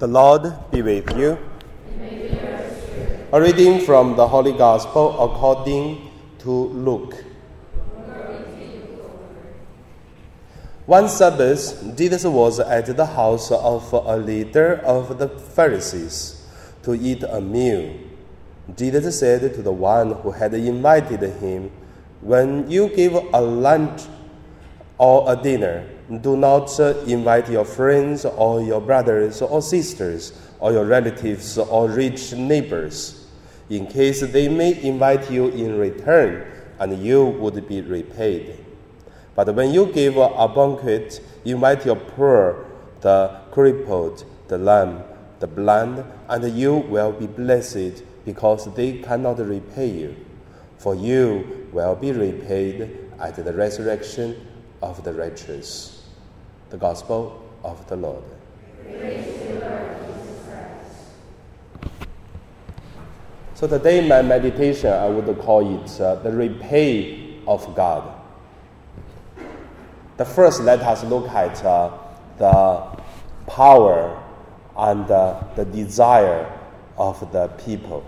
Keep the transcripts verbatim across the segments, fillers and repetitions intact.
The Lord be with you. A reading from the Holy Gospel according to Luke. One Sabbath, Jesus was at the house of a leader of the Pharisees to eat a meal. Jesus said to the one who had invited him, "When you give a lunch or a dinner, do not invite your friends or your brothers or sisters or your relatives or rich neighbors, in case they may invite you in return and you would be repaid. But when you give a banquet, invite your poor, the crippled, the lame, the blind, and you will be blessed because they cannot repay you, for you will be repaid at the resurrection of the righteous." The Gospel of the Lord. Praise to you, Lord Jesus Christ. So today my meditation, I would call it uh, the repay of God. The first, let us look at uh, the power and uh, the desire of the people.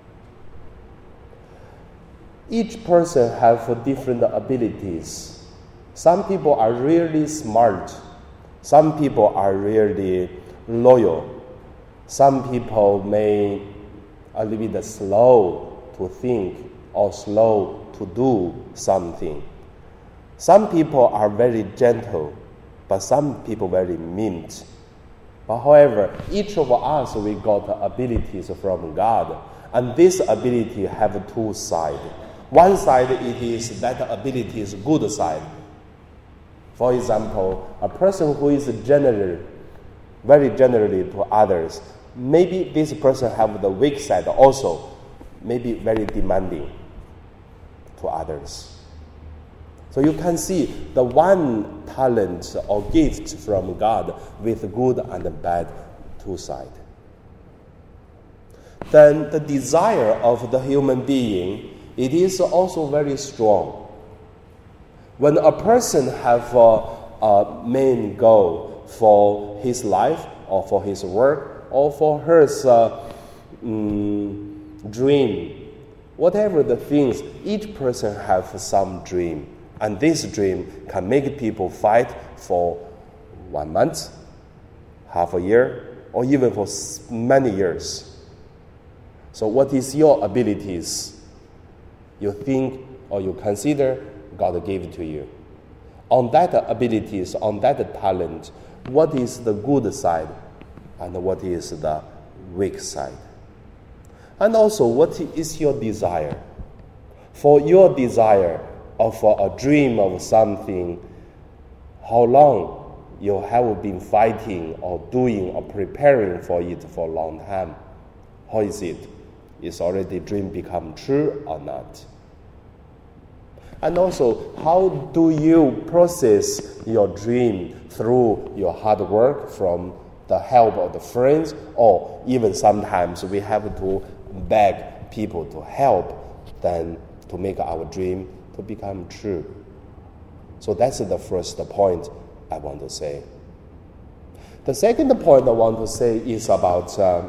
Each person has different abilities. Some people are really smart. Some people are really loyal. Some people may a little bit slow to think or slow to do something. Some people are very gentle, but some people very mean. But however, each of us, we got abilities from God, and this ability have two sides. One side, it is that ability is good side. For example, a person who is general, very generally to others, maybe this person have the weak side also, maybe very demanding to others. So you can see the one talent or gift from God with good and bad two sides. Then the desire of the human being, it is also very strong. When a person have a, a main goal for his life or for his work or for his uh, um, dream, whatever the things, each person have some dream. And this dream can make people fight for one month, half a year, or even for many years. So what is your abilities? You think or you consider God gave it to you. On that abilities, on that talent, what is the good side and what is the weak side? And also, what is your desire? For your desire or for a dream of something, how long you have been fighting or doing or preparing for it for a long time? How is it? Is already dream become true or not? And also, how do you process your dream through your hard work from the help of the friends, or even sometimes we have to beg people to help then to make our dream to become true. So that's the first point I want to say. The second point I want to say is about uh,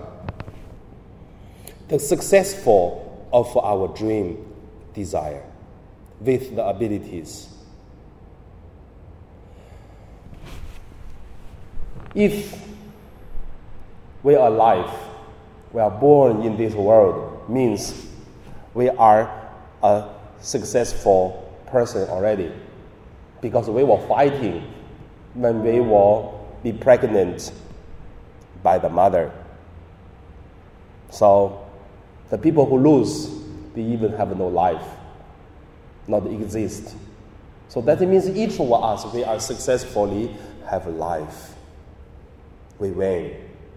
the successful of our dream desire with the abilities. If we are alive, we are born in this world, means we are a successful person already, because we were fighting when we will be pregnant by the mother. So the people who lose, they even have no life, not exist. So that means each of us, we are successfully have life. We win.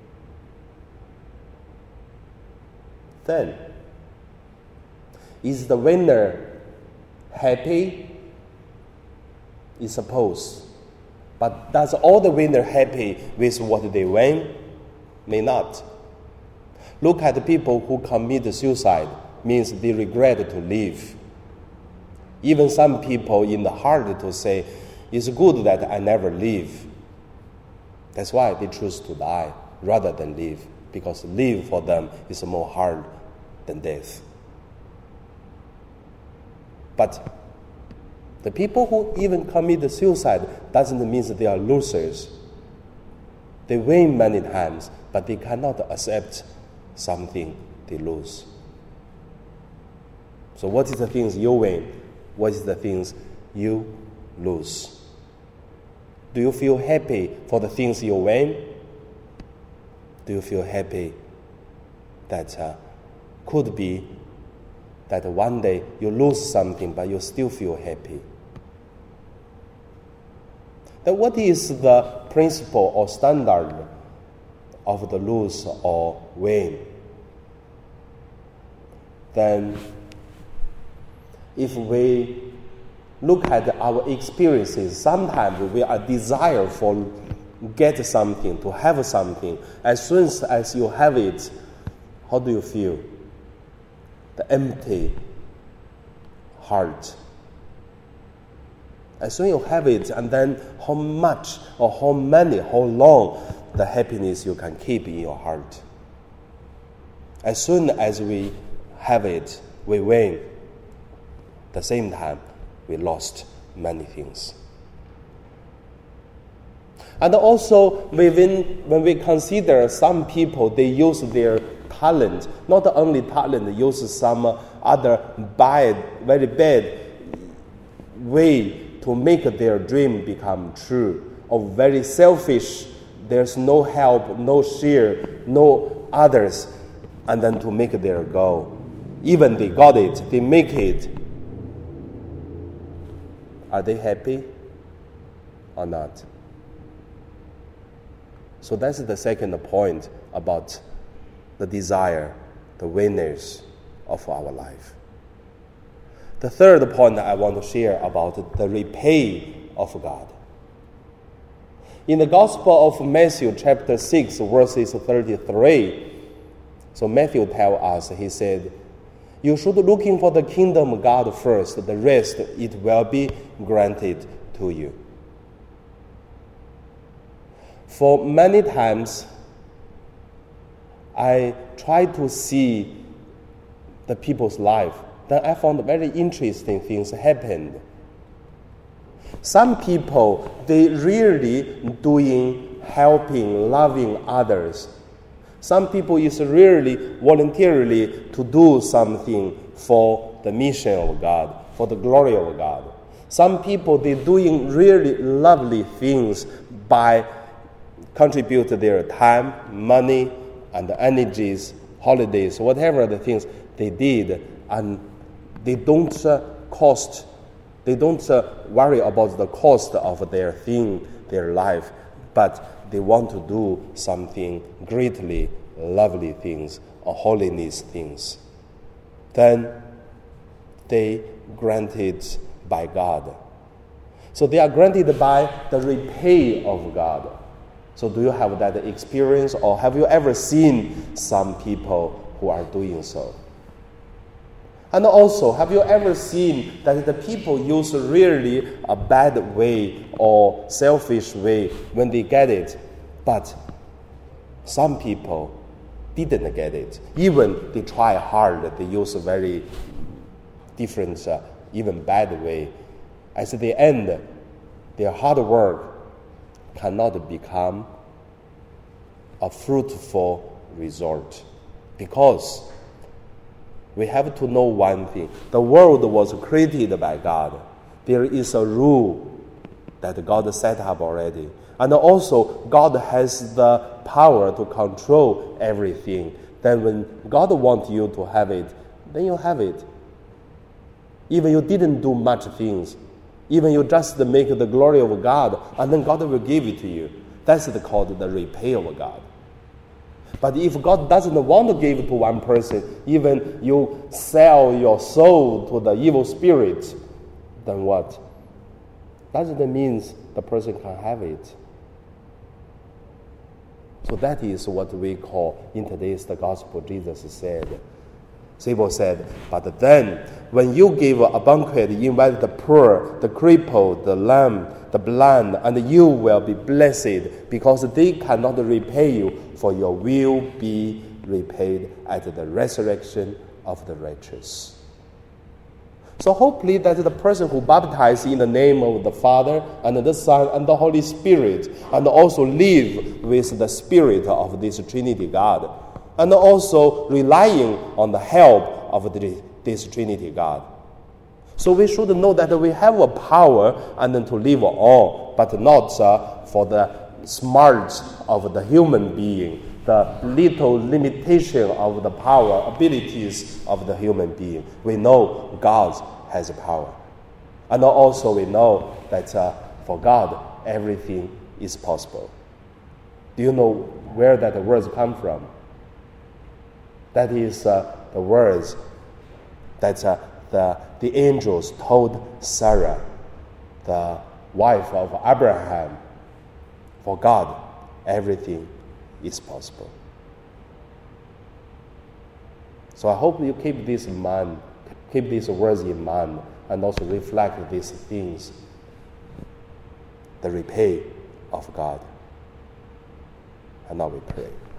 Then, is the winner happy? Is suppose. But does all the winner happy with what they win? May not. Look at the people who commit suicide, means they regret to live. Even some people in the heart to say, it's good that I never live. That's why they choose to die. rather than live, because live for them is more hard than death. But the people who even commit suicide doesn't mean that they are losers. They win many times, but they cannot accept something they lose. So what is the things you win? What is the things you lose? Do you feel happy for the things you win? Do you feel happy that uh, could be that one day you lose something, but you still feel happy? Then what is the principle or standard of the lose or win? Then if we look at our experiences, sometimes we are desire for get something, to have something. As soon as you have it, how do you feel? The empty heart. As soon as you have it, and then how much or how many, how long the happiness you can keep in your heart. As soon as we have it, we win. At the same time, we lost many things. And also, within, when we consider some people, they use their talent, not only talent, use some other bad, very bad way to make their dream become true, or very selfish, there's no help, no share, no others, and then to make their goal. Even they got it, they make it. Are they happy or not? So that's the second point about the desire, the winners of our life. The third point I want to share about the repay of God. In the Gospel of Matthew, chapter six, verses thirty-three, so Matthew tells us, he said, you should looking for the kingdom of God first, the rest it will be granted to you. For many times, I try to see the people's life. Then I found very interesting things happened. Some people, they really doing, helping, loving others. Some people is really voluntarily to do something for the mission of God, for the glory of God. Some people, they doing really lovely things by contribute their time, money, and energies, holidays, whatever the things they did, and they don't uh, cost, they don't uh, worry about the cost of their thing, their life, but they want to do something greatly lovely things or holiness things. Then they granted by God. So they are granted by the repay of God. So do you have that experience, or have you ever seen some people who are doing so? And also, have you ever seen that the people use really a bad way or selfish way when they get it, but some people didn't get it. Even they try hard, they use a very different, uh, even bad way. At the end, their hard work cannot become a fruitful result, because we have to know one thing. The world was created by God. There is a rule that God set up already. And also, God has the power to control everything. Then when God wants you to have it, then you have it. Even you didn't do much things. Even you just make the glory of God, and then God will give it to you. That's called the repay of God. But if God doesn't want to give it to one person, even you sell your soul to the evil spirit, then what? Doesn't mean the person can have it. So that is what we call, in today's the gospel, Jesus said. Sibyl said, but then when you give a banquet, you invite the poor, the crippled, the lame, the blind, and you will be blessed, because they cannot repay you, for you will be repaid at the resurrection of the righteous. So hopefully that the person who baptizes in the name of the Father and the Son and the Holy Spirit, and also live with the Spirit of this Trinity God, and also relying on the help of the, this Trinity God. So we should know that we have a power and to live on, but not uh, for the smarts of the human being, the little limitation of the power, abilities of the human being. We know God has power. And also we know that uh, for God, everything is possible. Do you know where that words come from? That is uh, the words that uh, the, the angels told Sarah, the wife of Abraham, for God, everything is possible. So I hope you keep this in mind, keep these words in mind, and also reflect these things, the repay of God. And now we pray.